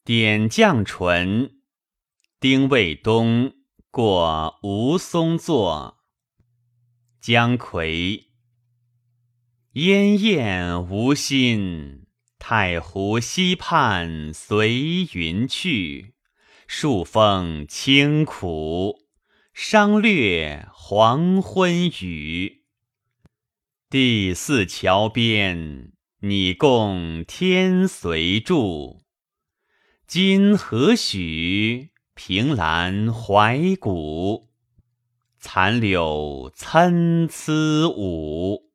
点绛唇，丁未冬，过吴松作。姜夔。燕燕无心，太湖西畔随云去。数风清苦，商略黄昏雨。第四桥边，拟共天随住。今何许，凭栏怀古。残柳参差舞。